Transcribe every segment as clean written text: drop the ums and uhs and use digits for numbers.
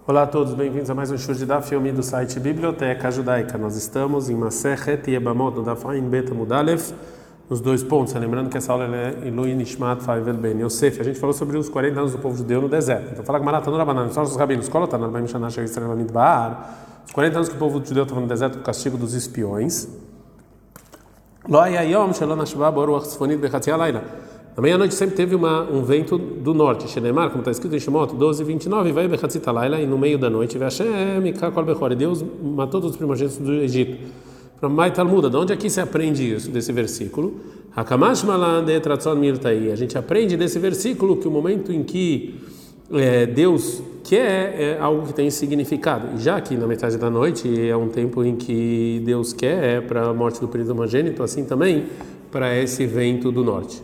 Olá a todos, bem-vindos a mais um show de Daf Yomi do site Biblioteca Judaica. Nós estamos em Masechet Yebamot, no Daf Ain Bet Amud Aleph, nos 2 pontos. Lembrando que essa aula é Ilui Nishmat Faivel Ben Yosef. A gente falou sobre os 40 anos do povo judeu no deserto. Então fala que Maratanu Rabanan, só os rabinos, Kolotan, Arbaim Shana Shel Yisrael Midbar. Os 40 anos que o povo judeu estava no deserto do castigo dos espiões. Lo Hayayom Shelon Hashba Boruach Tzfonit Bechatzi Halayla. Na meia-noite sempre teve um vento do norte, Shenemar, como está escrito em Shemot 12:29, vai Bechatzi Halayla, e no meio da noite, Hashem Mikakol Bechor, Deus matou todos os primogênitos do Egito. Para Mai Talmuda, de onde aqui se aprende isso, desse versículo? Hakamash Malan de Tratzon Mirtai. A gente aprende desse versículo que o momento em que Deus quer é algo que tem significado. E já que na metade da noite é um tempo em que Deus quer para a morte do primogênito, assim também para esse vento do norte.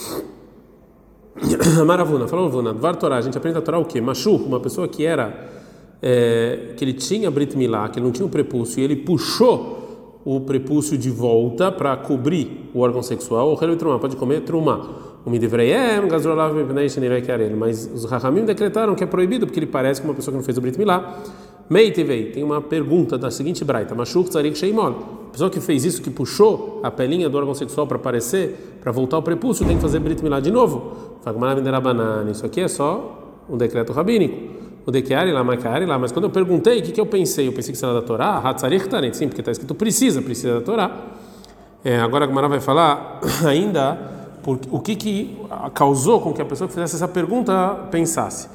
Maravuna, falou Vuna, Dvar Torá, a gente aprende a Torá o quê? Mashu, uma pessoa que que ele tinha Brit Milá, que ele não tinha o prepúcio, e ele puxou o prepúcio de volta para cobrir o órgão sexual, o Helvi Trumá, pode comer Trumá. O Midivreiem, Gazrolav, mas os Rahamim decretaram que é proibido, porque ele parece com uma pessoa que não fez o Brit Milá. Meitivei, tem uma pergunta da seguinte braita, Mashuk Tzarik Sheimol. A pessoa que fez isso, que puxou a pelinha do órgão sexual para aparecer, para voltar ao prepúcio, tem que fazer Brit Milá de novo. Isso aqui é só um decreto rabínico. O Dekeari lá, Makari lá. Mas quando eu perguntei, o que eu pensei? Eu pensei que isso era da Torá. Hatzarik Taret, sim, porque está escrito precisa da Torá. Agora a Gemara vai falar ainda o que causou com que a pessoa que fizesse essa pergunta pensasse.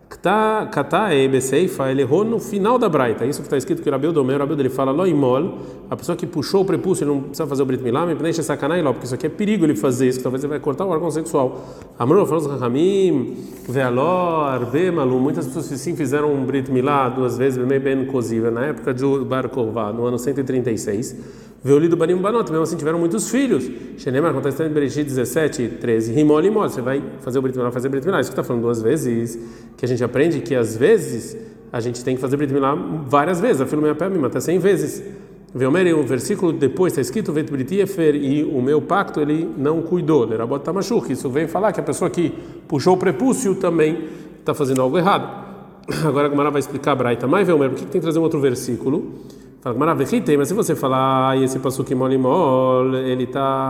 Ele errou no final da braita. Isso que está escrito que o Rabi Odomer, ele fala loimol, a pessoa que puxou o prepúcio, ele não precisa fazer o Brit Milá, me deixa sacanagem lá, porque isso aqui é perigo ele fazer isso, que talvez ele vai cortar o órgão sexual. Amor, falou os Rahamim, Vealor, Bemalu, muitas pessoas sim fizeram um Brit Milá 2 vezes, bem coziva, na época de Bar Korvá, no ano 136. Veolido Barim Banot, mesmo assim tiveram muitos filhos. Shenemar, quando está escrito em Bereshit 17:13, Rimol, você vai fazer o Brit Milá, fazer o Brit Milá. Isso que está falando 2 vezes, que a gente aprende que às vezes a gente tem que fazer Brit Milá várias vezes, a filha até 100 vezes. Veomer, o versículo depois está escrito, Vet Brit Yefer, e o meu pacto ele não cuidou. Lerabot Tamashuk, isso vem falar que a pessoa que puxou o prepúcio também está fazendo algo errado. Agora a Gemara vai explicar a Braita. Mas Veomer, por que tem que trazer um outro versículo? Fala, mas se você falar esse passuque molimol, ele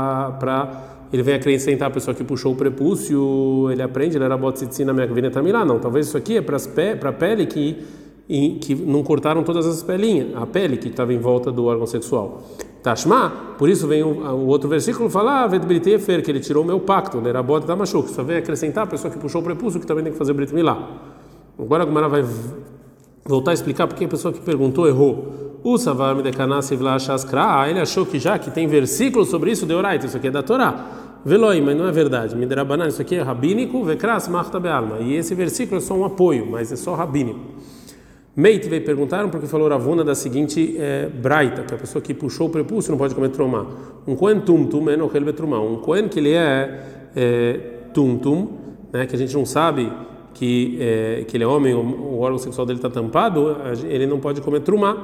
vem acrescentar a pessoa que puxou o prepúcio, ele aprende, ele era botzitzi na minha vinetamirá, não, talvez isso aqui é para a pele que não cortaram todas as pelinhas, a pele que estava em volta do órgão sexual. Tashma, por isso vem o outro versículo falar, que ele tirou o meu pacto, ele era bot da machuk, só vem acrescentar a pessoa que puxou o prepúcio que também tem que fazer Brit Milá. Agora a Gemara vai voltar a explicar porque a pessoa que perguntou errou. O Savar Medekanasiv la Shaskra, ele achou que já que tem versículo sobre isso, de Oraita, isso aqui é da Torá. Veloi, mas não é verdade. Midrabanan, isso aqui é rabínico, Vekras Marta Bealma. E esse versículo é só um apoio, mas é só rabínico. Meit veio perguntaram porque falou Ravuna da seguinte braita, que a pessoa que puxou o prepúcio não pode comer trumá. Um Kohen tumtum é nochel betrumá. Um Kohen que ele é tumtum, né, que a gente não sabe que ele é homem, o órgão sexual dele está tampado, ele não pode comer trumá,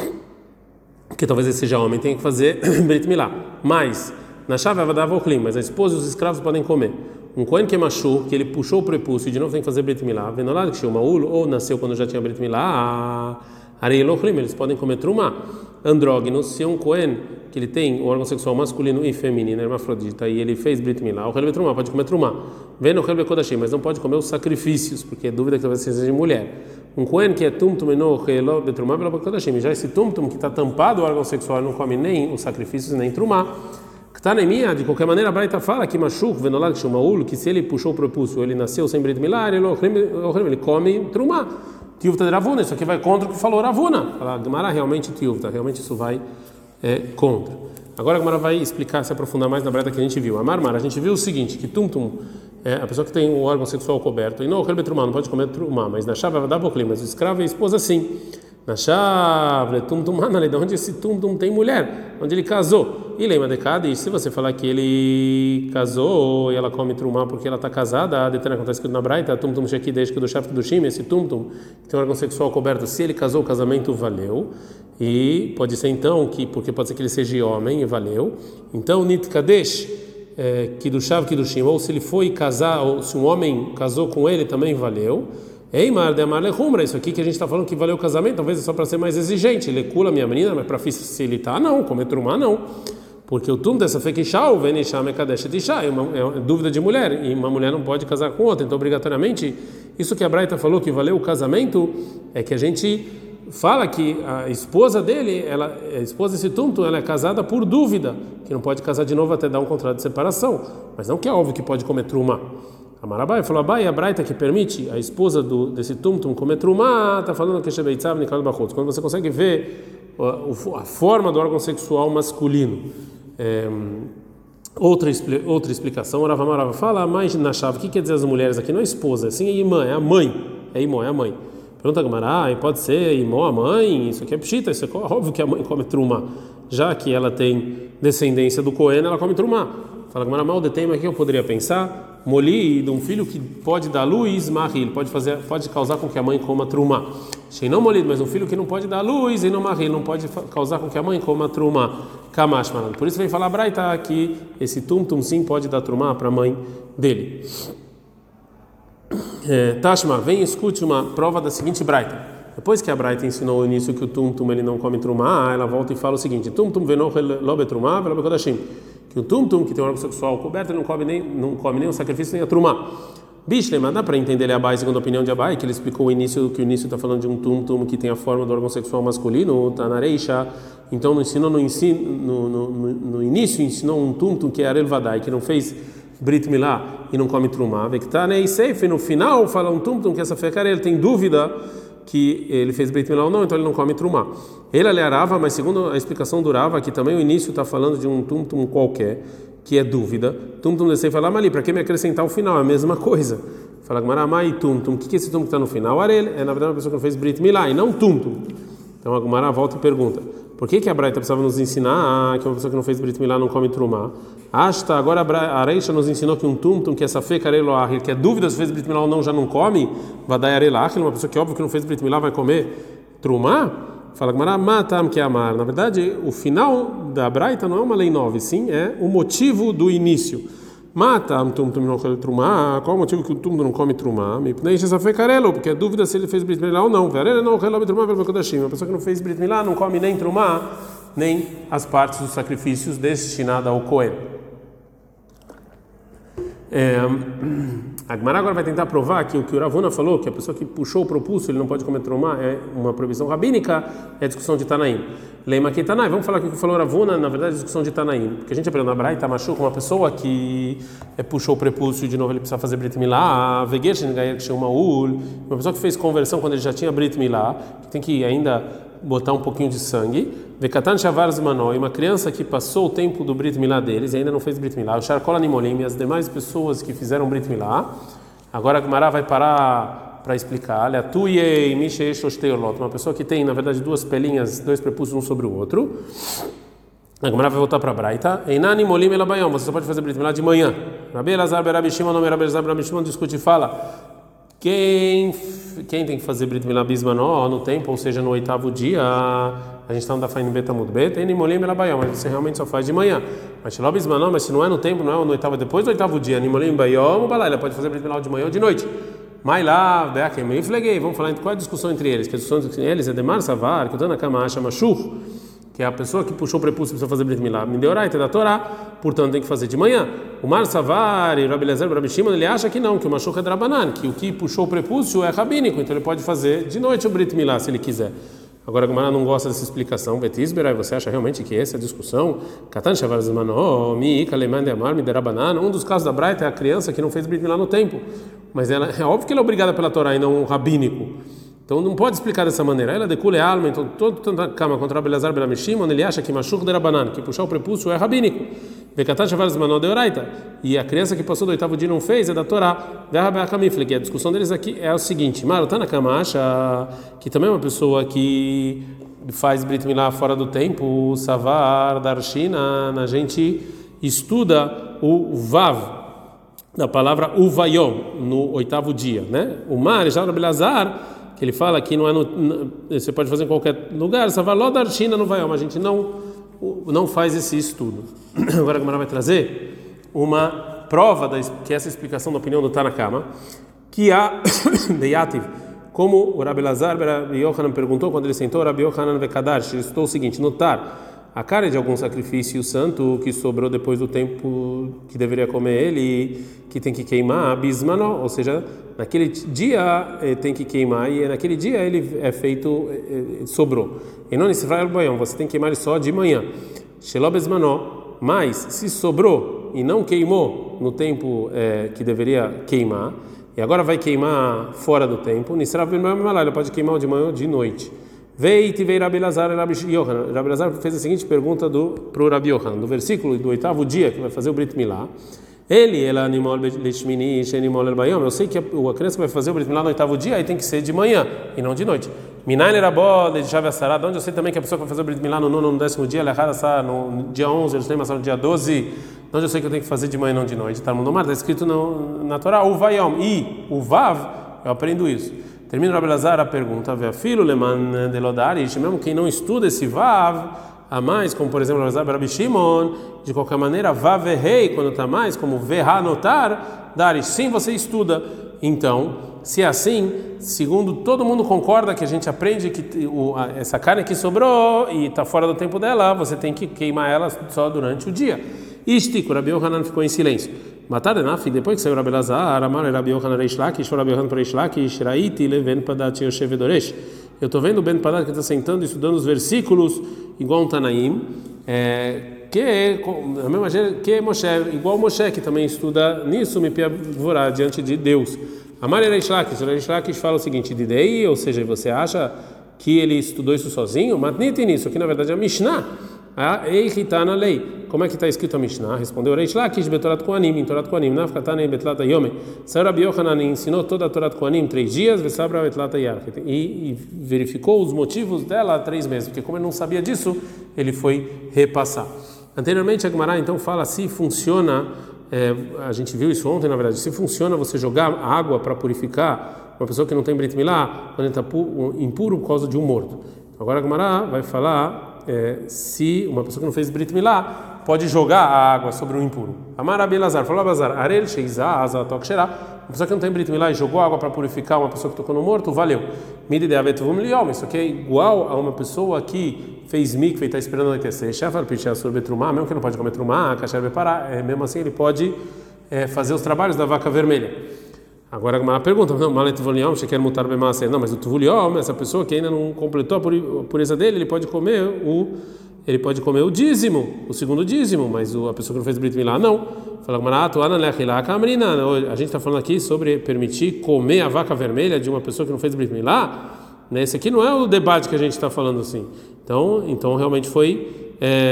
que talvez ele seja homem, tem que fazer Brit Milá. Mas, na chave vai dar voclim, mas a esposa e os escravos podem comer. Um Kohen que é machu, que ele puxou o prepúcio e de novo tem que fazer Brit Milá, venolado que chama ou nasceu quando já tinha Brit Milá, eles podem comer trumá. Andrógenos, se é um Kohen que ele tem o órgão sexual masculino e feminino, hermafrodita, e ele fez Brit Milá, o Helve Trumá pode comer trumá. Vem no Helve Kodashim, mas não pode comer os sacrifícios, porque é dúvida que talvez seja de mulher. Um Kohen que é tumtum no Helve Trumá pela Kodashim, já esse tumtum que está tampado o órgão sexual não come nem os sacrifícios nem trumá. Ktanemia, de qualquer maneira, a Braita fala que Mashuk, venolad que chama que se ele puxou o prepúcio, ele nasceu sem Brit Milá, ele come trumá. Tiuvta de Ravuna, isso aqui vai contra o que falou Ravuna. Fala, Gemara realmente Tiuvta, realmente isso vai contra. Agora a Gemara vai explicar, se aprofundar mais na breta que a gente viu. A Marmara, a gente viu o seguinte, que tumtum, a pessoa que tem o órgão sexual coberto, e não pode comer trumá, mas na chave vai dar boclim, mas o escravo e a esposa sim. Na chave, tumtum, de onde esse tumtum tem mulher? Onde ele casou? E lembra de cada, e se você falar que ele casou e ela come trumá porque ela está casada, a detena acontece que na Braita, tumtum sheki desde que do chefe do shime, esse tumtum que tem um órgão sexual coberto, se ele casou, o casamento valeu, e pode ser então porque pode ser que ele seja homem e valeu. Então nit kadesh que do shav que do shim, ou se ele foi casar, ou se um homem casou com ele também valeu. Eimar de amar lehumra, isso aqui que a gente está falando que valeu o casamento, talvez é só para ser mais exigente. Lecula minha menina, mas para facilitar, não. Comer trumá, não. Porque o tum dessa fekishá, vem ishá mekadesh ishá, é dúvida de mulher, e uma mulher não pode casar com outra. Então, obrigatoriamente, isso que a Braita falou que valeu o casamento, é que a gente fala que a esposa dele, a esposa desse tum, ela é casada por dúvida, que não pode casar de novo até dar um contrato de separação. Mas não que é óbvio que pode comer trumá. Amarabai falou, Abai, a Braita que permite a esposa desse tum comer trumá, está falando que Shebeitzav Nikal Bachutz, quando você consegue ver a forma do órgão sexual masculino. Outra explicação, o Rava fala, mas na chave, o que quer dizer as mulheres aqui? Não é esposa, assim é irmã, é a mãe. É irmã, é a mãe. Pergunta a Gamara, pode ser irmã, a mãe, isso aqui é pshita, isso é óbvio que a mãe come trumá, já que ela tem descendência do Cohen, ela come trumá. Fala Gamara, mal detém, mas o que eu poderia pensar? Moli de um filho que pode dar luz, marril, pode causar com que a mãe coma trumá. Achei não molido, mas um filho que não pode dar luz e não marril, não pode causar com que a mãe coma trumá. Kamash, mano. Por isso vem falar Braita que esse tum sim pode dar trumá para a mãe dele. Tashma, vem e escute uma prova da seguinte Braita. Depois que a Braita ensinou no início que o tum ele não come trumá, ela volta e fala o seguinte: tum venoch lo betrumá velo bekodashim. Que o tum que tem um órgão sexual coberto não come nem o sacrifício nem a trumá. Bishle, mas dá para entender Abai, segundo a opinião de Abai, que ele explicou que o início está falando de um tum que tem a forma do órgão sexual masculino, tá na reisha. Então no início ensinou um tum que é arel vadai, que não fez brit milá e não come trumá. Vektanei seif, no final fala um tum que essa fecara ele tem dúvida que ele fez brit milá ou não, então ele não come trumá. Ele alearava, mas segundo a explicação do Rava, que também o início está falando de um tum qualquer, que é dúvida. Tum de falar, mas ali, para que me acrescentar o final? É a mesma coisa. Fala, Gumaramai, tum. O que é esse tum que está no final? Arel é, na verdade, uma pessoa que não fez brit milá e não tum. Então a Gumara volta e pergunta: por que a Braita precisava nos ensinar que uma pessoa que não fez brit milá não come trumá? Agora a Reisha nos ensinou que um tum que é safek arel ahil, que é dúvida se fez brit milá ou não, já não come, vai dar arel ahil, uma pessoa que óbvio que não fez brit milá vai comer trumá? Fala Gumara, matam que amar. Na verdade, o final da Braita não é uma lei nova, sim, é o motivo do início. Matam tum não come trumá. Qual o motivo que o tum não come trumá? Me pneixa safek arelo, porque é dúvida se ele fez brit milá ou não. Arel não come trumá pelo kodashim. Uma pessoa que não fez brit milá não come nem trumá, nem as partes dos sacrifícios destinadas ao Cohen. A Gemara agora vai tentar provar que o que o Ravuna falou, que a pessoa que puxou o propulso ele não pode comer trumá, é uma proibição rabínica, é a discussão de Tanaim. Leima que Tanai, vamos falar que o que falou o Ravuna, na verdade é a discussão de Tanaim, porque a gente aprendeu na Braita machuca uma pessoa que puxou o prepúcio e de novo ele precisa fazer Brit Milá, Vegeshin Gayer Kshumaul, uma pessoa que fez conversão quando ele já tinha Brit Milá, que tem que ainda botar um pouquinho de sangue, Vekatan Shavar Zmanó, e uma criança que passou o tempo do Brit Milá deles e ainda não fez Brit Milá, o Sharkol Animolim e as demais pessoas que fizeram Brit Milá. Agora a Gemara vai parar para explicar. Uma pessoa que tem, na verdade, duas pelinhas, dois prepúcios um sobre o outro. A Gemara vai voltar para a Braita. Você só pode fazer Brit Milá de manhã. Rabi Elazar Berabi Shimon, nome Rabi Elazar Berabi Shimon, discute e fala: quem tem que fazer Brit Milá bismanó no tempo, ou seja, no oitavo dia? A gente está no Dafain Betamud Bet, mas você realmente só faz de manhã. Mas se não é no tempo, não é no oitavo, depois do oitavo dia, ela pode fazer Brit Milá de manhã ou de noite. Mas lá, vamos falar qual é a discussão entre eles? Que a discussão entre eles é Demar Savar, que o Tana Kama acha Mashur, que é a pessoa que puxou o prepúcio precisa fazer Brit Milá, Mideoraita da Torá, portanto tem que fazer de manhã. O Mar Savar e Rabi Elazar Rabi Shimon, ele acha que não, que o Mashur é Drabanan, que o que puxou o prepúcio é rabínico, então ele pode fazer de noite o Brit Milá se ele quiser. Agora a Gemara não gosta dessa explicação. Betisberai, você acha realmente que essa é a discussão? Katan Shavar Zmanó, Mi Kaleman de Amar, Miderabanan. Um dos casos da Braita é a criança que não fez Brit Milá no tempo, mas ela é óbvio que ela é obrigada pela Torá e não rabínico. Então não pode explicar dessa maneira. Ela decule a alma, então todo a cama contra Rabi Elazar Berabi Shimon, ele acha que Mashur de Rabanan, que puxar o prepúcio é rabínico. Vekatan Shavar Zmanó de Oraita. E a criança que passou do oitavo dia não fez é da Torá. Que a discussão deles aqui é o seguinte: Marotana Kama acha que também é uma pessoa que faz Brit Milá fora do tempo, Savar, Darshina, a gente estuda o Vav, da palavra Uvayom, no oitavo dia, né? O Mar, já Rabi Elazar, que ele fala que não é você pode fazer em qualquer lugar, Savar, Ló, Darshina, no Vayom, a gente não faz esse estudo. Agora a Gemara vai trazer uma prova que essa explicação da opinião do Tanakama, que a Deyativ, Como o Rabi Elazar Rabi Yochanan perguntou quando ele sentou, Rabi Yochanan Vekadash, ele citou o seguinte: notar a carne de algum sacrifício santo que sobrou depois do tempo que deveria comer ele, que tem que queimar, bismano, ou seja, naquele dia tem que queimar, e naquele dia ele é feito, sobrou. E não nesse boião, você tem que queimar ele só de manhã. Shelo bismano, mas se sobrou e não queimou no tempo que deveria queimar, e agora vai queimar fora do tempo, ele pode queimar de manhã ou de noite. Veio Rabi Elazar e Rabi Yochanan. Rabi Elazar fez a seguinte pergunta para o Rabi Yochanan, do versículo do 8º dia, que vai fazer o Brit Milá. Ela animal leshmini, shenimol erbayom. Eu sei que a criança vai fazer o Brit Milá no 8º dia, aí tem que ser de manhã e não de noite. Minayin erabó de chave assará. De onde eu sei também que a pessoa que vai fazer o Brit Milá no 9º, no 10º dia, ela errada no dia 11, eles têm no dia 12. De onde eu sei que eu tenho que fazer de manhã e não de noite. Tá no Nomar, está escrito na Torá, o vayom e o vav. Eu aprendo isso. Termina o Rabi Elazar a pergunta, filho leman de lodarish, mesmo quem não estuda esse vav a mais, como por exemplo Rabi Shimon, de qualquer maneira vav rei quando está mais, como verá notar darish, sim, você estuda. Então, se é assim, segundo todo mundo concorda que a gente aprende que essa carne que sobrou e está fora do tempo dela, você tem que queimar ela só durante o dia. Ishtik, o Rabi Yochanan ficou em silêncio. Matar depois que saiu Rabi Elazar, Amar Rabi Yochanan Reish Lakish, Rabi Yochanan para Reish Lakish, Raiti leven padat yoshev vedoresh. Eu estou vendo o Ben Padat que está sentando e estudando os versículos igual um Tanaim, que a mesma maneira que Moshe, igual Moshe que também estuda nisso, me piavorá diante de Deus. Amar Reish Lakish fala o seguinte: Didei, ou seja, você acha que ele estudou isso sozinho? Matniti nisso, que na verdade é a Mishnah. Eita na lei. Como é que está escrito a Mishnah? Respondeu Reish Lakish betorat koanim, em Torat koanim, nafkatane betlat yome. Saiu Rabi Yochanan ensinou toda a Torat koanim 3 dias, vesabra betlat yarchet, e verificou os motivos dela há 3 meses, porque como ele não sabia disso, ele foi repassar. Anteriormente a Gemara então fala se funciona, a gente viu isso ontem na verdade, se funciona você jogar água para purificar uma pessoa que não tem Brit Milá quando ele está impuro por causa de um morto. Agora a Gemara vai falar se uma pessoa que não fez Brit Milá pode jogar a água sobre um impuro. Amar Rabi Elazar, falou Abazar, Arel Sheizah Azatok Sherá, uma pessoa que não tem Brit Milá e jogou água para purificar uma pessoa que tocou no morto, valeu. Midi de Avetuvum Liom, isso aqui é igual a uma pessoa que fez mikve e está esperando anoitecer. Shafar Pichá sobre Trumá, mesmo que não pode comer Trumá, Kasher Bepará, mesmo assim ele pode fazer os trabalhos da vaca vermelha. Agora uma pergunta, não, Malet Voliom, você quer mutar bem massa? Não, mas o Tuvuliom, essa pessoa que ainda não completou a pureza dele, ele pode comer o dízimo, o segundo dízimo, mas a pessoa que não fez Brit Milá não. Fala a gente está falando aqui sobre permitir comer a vaca vermelha de uma pessoa que não fez Brit Milá, né? Esse aqui não é o debate que a gente está falando assim. Então realmente foi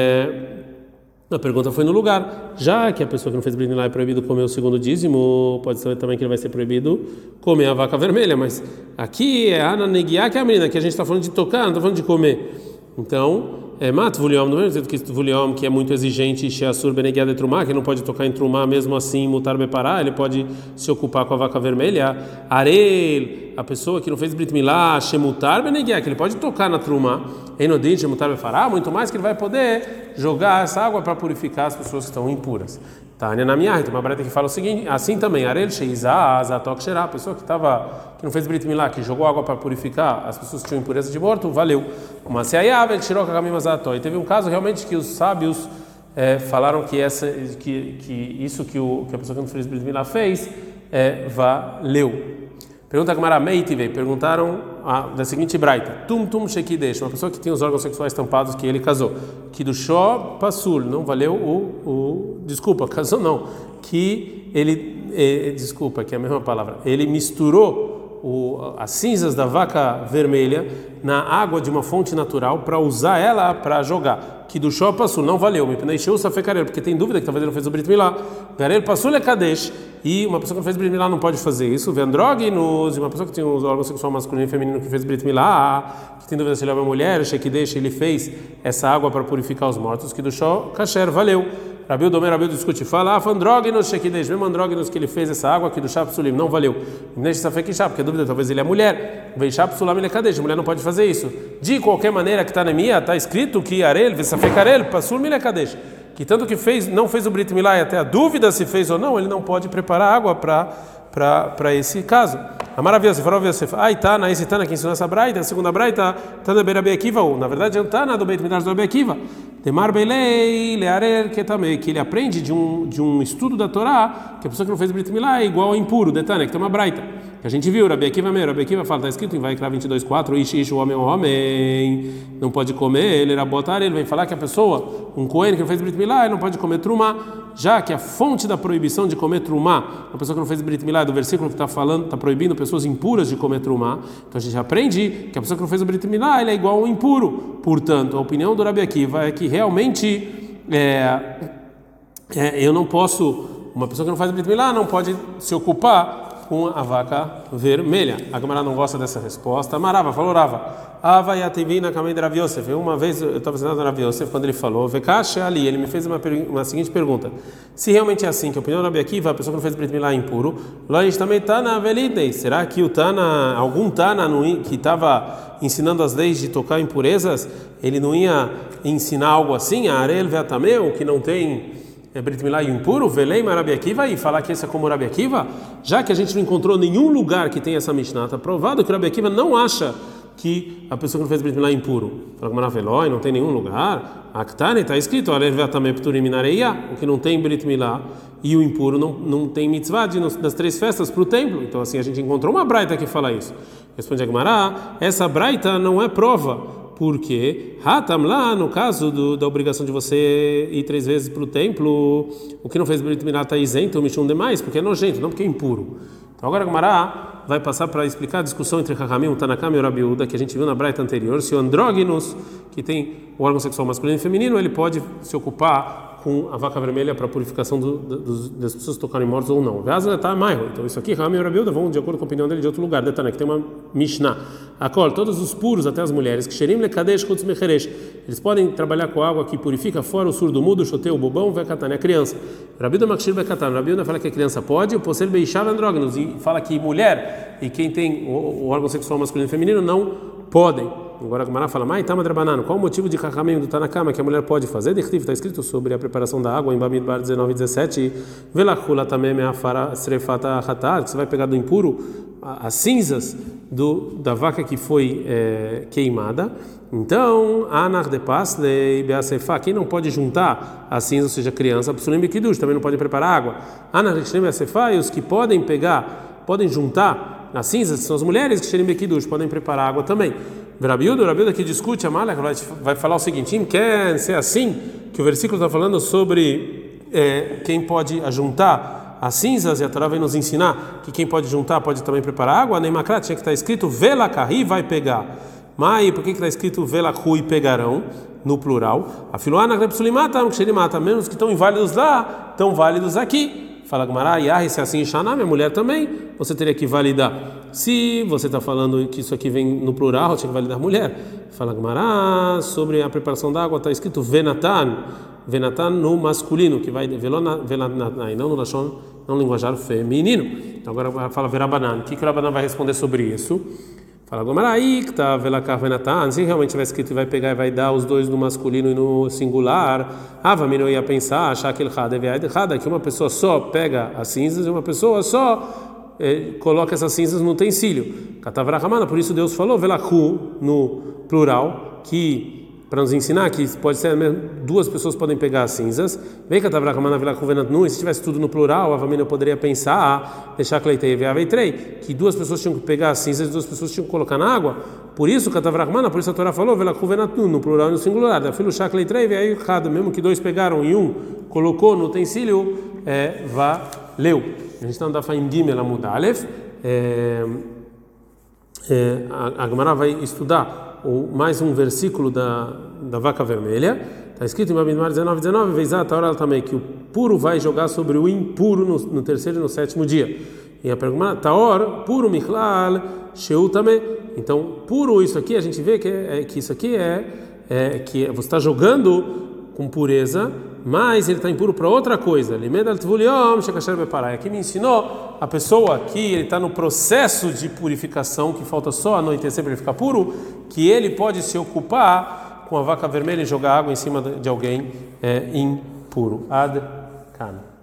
a pergunta foi no lugar. Já que a pessoa que não fez Brit Milá é proibido comer o segundo dízimo, pode ser também que ele vai ser proibido comer a vaca vermelha, mas aqui é a Ana Neguiá, que é a menina, que a gente está falando de tocar, não está falando de comer. Então, Mat Vuliom, do mesmo jeito que Vuliom, que é muito exigente, Sheasur Beneguiá de Trumá, que não pode tocar em Trumá, mesmo assim, Mutar Bepará, ele pode se ocupar com a vaca vermelha. Arel, a pessoa que não fez Brit Milá, Shemutar Beneguiá, que ele pode tocar na Trumá, Enodin, Shemutar Bepará, muito mais que ele vai poder jogar essa água para purificar as pessoas que estão impuras. Tânia na minha, tem uma breta que fala o seguinte, assim também, Arel Sheizah Azatok Sherá, a pessoa que não fez Brit Milá, que jogou água para purificar as pessoas que tinham impureza de morto, valeu. Mas se ele tirou e teve um caso realmente que os sábios falaram que isso que a pessoa que não fez Brit Milá fez valeu. Pergunta a Gemara Meitivei, perguntaram da seguinte braita: Tum Shekidesh, uma pessoa que tinha os órgãos sexuais tampados que ele casou, que do Shó Passul, não valeu desculpa, casou não, que ele, desculpa, que é a mesma palavra, ele misturou as cinzas da vaca vermelha na água de uma fonte natural para usar ela para jogar, que do Shó Passul, não valeu, porque tem dúvida que talvez ele não fez o Brit Milá, Garel Passul é Kadesh. E uma pessoa que não fez Brit Milá não pode fazer isso. Vendróginos, e uma pessoa que tem os órgãos sexual masculino e feminino que fez Brit Milá, que tem dúvida se ele é uma mulher, Shekidesh, ele fez essa água para purificar os mortos, que do Shó Kasher, valeu. Rabiu Domer, Rabiu discute, fala, Andróginos, Shekidesh, mesmo Andróginos que ele fez essa água, que do Shá Psulim, não valeu. Neste Safek Shá, porque a dúvida talvez ele é mulher, vem Shá Psulam ele é Kadesh, a mulher não pode fazer isso. De qualquer maneira que está na minha, está escrito que Arel, Safek Arel, Psul ele é Kadesh. Que tanto que não fez o Brit Milá e até a dúvida se fez ou não, ele não pode preparar água para esse caso. Maravilhoso, falou Yosef. Ai, Tana, esse Tana que ensinou essa braita, a segunda braita, Tana be Rabi Akiva, na verdade é o Tana do Beit Midrash do Rabi Akiva. Temar Belei, Learer, que também, que ele aprende de um estudo da Torá, que a pessoa que não fez Brit Milá é igual ao impuro, Detana, que tem uma braita. Que a gente viu, Rabi Akiva mesmo, Rabi Akiva fala, está escrito em Vaikra 22:4, Ish, o homem, não pode comer, ele era botar, ele vem falar que a pessoa, um cohen que não fez Brit Milá, ele não pode comer trumá, já que a fonte da proibição de comer trumá, a pessoa que não fez Brit Milá, do versículo que está falando, está proibindo pessoas impuras de comer trumá, então a gente aprende que a pessoa que não fez o Brit Milá, ele é igual ao impuro. Portanto, a opinião do Rabi Akiva é que realmente eu não posso, uma pessoa que não faz Brit Milá não pode se ocupar com a vaca vermelha. A Gemara não gosta dessa resposta. Marava, falou Rava. Ava yativina kamei de Rav Yosef. Uma vez eu estava ensinando a Rav Yosef quando ele falou, Vekash ali, ele me fez uma seguinte pergunta. Se realmente é assim, que a opinião do Rabi Akiva, a pessoa que não fez Brit Milá é impuro, lá a gente também está na velidei. Será que o Tana, algum Tana que estava ensinando as leis de tocar impurezas, ele não ia ensinar algo assim? A Arel Veatameu, que não tem Brit Milá e impuro, velei Rabi Akiva, e falar que esse é como Rabi Akiva, já que a gente não encontrou nenhum lugar que tem essa Mishnah, está provado que o Rabi Akiva não acha que a pessoa que não fez Brit Milá é impuro. Fala que Maravelói, não tem nenhum lugar. Aktane está escrito, o que não tem Brit Milá e o impuro não tem mitzvah das 3 festas para o templo. Então assim a gente encontrou uma braita que fala isso. Responde a Gemara, essa braita não é prova. Porque Hatam lá, no caso da obrigação de você ir 3 vezes para o templo, o que não fez Brit Milá está isento, o Mishum demais, porque é nojento, não porque é impuro. Então agora a Gemara vai passar para explicar a discussão entre Chachamim, o Tanakama e o Rabi Uda, que a gente viu na braita anterior, se o andróginos, que tem o órgão sexual masculino e feminino, ele pode se ocupar com a vaca vermelha para a purificação das pessoas tocarem mortos ou não. Então isso aqui, Chachamim e o Rabi Uda vão de acordo com a opinião dele de outro lugar, detalhe, que tem uma Mishnah. Akol, todos os puros, até as mulheres, que xerim lekadesh chutz mecheresh, eles podem trabalhar com água que purifica fora o surdo mudo, o choteu, o bobão, vekatan, é a criança. Rabi Uda makshir bekatan, Rabi Uda fala que a criança pode, o possel beishar andrógenos, e fala que mulher e quem tem o órgão sexual masculino e feminino não podem. Agora a Gemara fala, qual o motivo de Chachamim do Tanakama que a mulher pode fazer? Está escrito sobre a preparação da água em Bamidbar 19 e 17, velachula também srefata hatat, que você vai pegar do impuro as cinzas da vaca que foi queimada. Então, anar de paslei beasefa, quem não pode juntar as cinzas, ou seja, criança, psulim bekidush, também não pode preparar água. Anar de beasefa, e os que podem juntar as cinzas, são as mulheres que xerim bekidush, podem preparar água também. Rabi Uda que discute, a Malek vai falar o seguinte: quer ser assim, que o versículo está falando sobre quem pode juntar as cinzas, e a Torá vai nos ensinar que quem pode juntar pode também preparar água. Na Imakrat tinha que estar escrito vela carri vai pegar. Mas por que está escrito vela ru e pegarão no plural? A filoana grepsulimata, menos que estão inválidos lá, estão válidos aqui. Fala Gemara, se assim enxanar, minha mulher também, você teria que validar. Se você está falando que isso aqui vem no plural, tinha que validar mulher. Fala Gemara, sobre a preparação da água, está escrito venatan no masculino, que vai velanai, não no lashon, não linguajar feminino. Então agora fala verabanan. O que o Rabanan vai responder sobre isso? Fala Gemara, que está velakar venatan, se realmente tiver escrito vai pegar e vai dar os dois no masculino e no singular, Vamino ia pensar, achar que que uma pessoa só pega as cinzas e uma pessoa só coloca essas cinzas no utensílio. Katavrahamana, por isso Deus falou velaku no plural, que para nos ensinar que pode ser mesmo, 2 pessoas podem pegar as cinzas. Vem Katavrahamana velaku venatnu, e se tivesse tudo no plural, a família poderia pensar, deixar que 2 pessoas tinham que pegar as cinzas e 2 pessoas tinham que colocar na água. Por isso Katavrahamana, por isso a Torá falou velaku venatnu no plural e no singular. Da filho shakleitei veio errado, mesmo que 2 pegaram e um colocou no utensílio, valeu. A gente está no Dafaim Gimel Amud Aleph. A Gemara vai estudar mais um versículo da vaca vermelha. Está escrito em Bamidbar 19, Veizat a hora também, que o puro vai jogar sobre o impuro no 3º e no 7º dia. E a pergunta, Taor, puro Michlal, Sheu também. Então, puro, isso aqui, a gente vê que isso aqui que você está jogando com pureza, mas ele está impuro para outra coisa. Aqui me ensinou a pessoa que ele está no processo de purificação, que falta só anoitecer para ele ficar puro, que ele pode se ocupar com a vaca vermelha e jogar água em cima de alguém impuro. Ad Kan.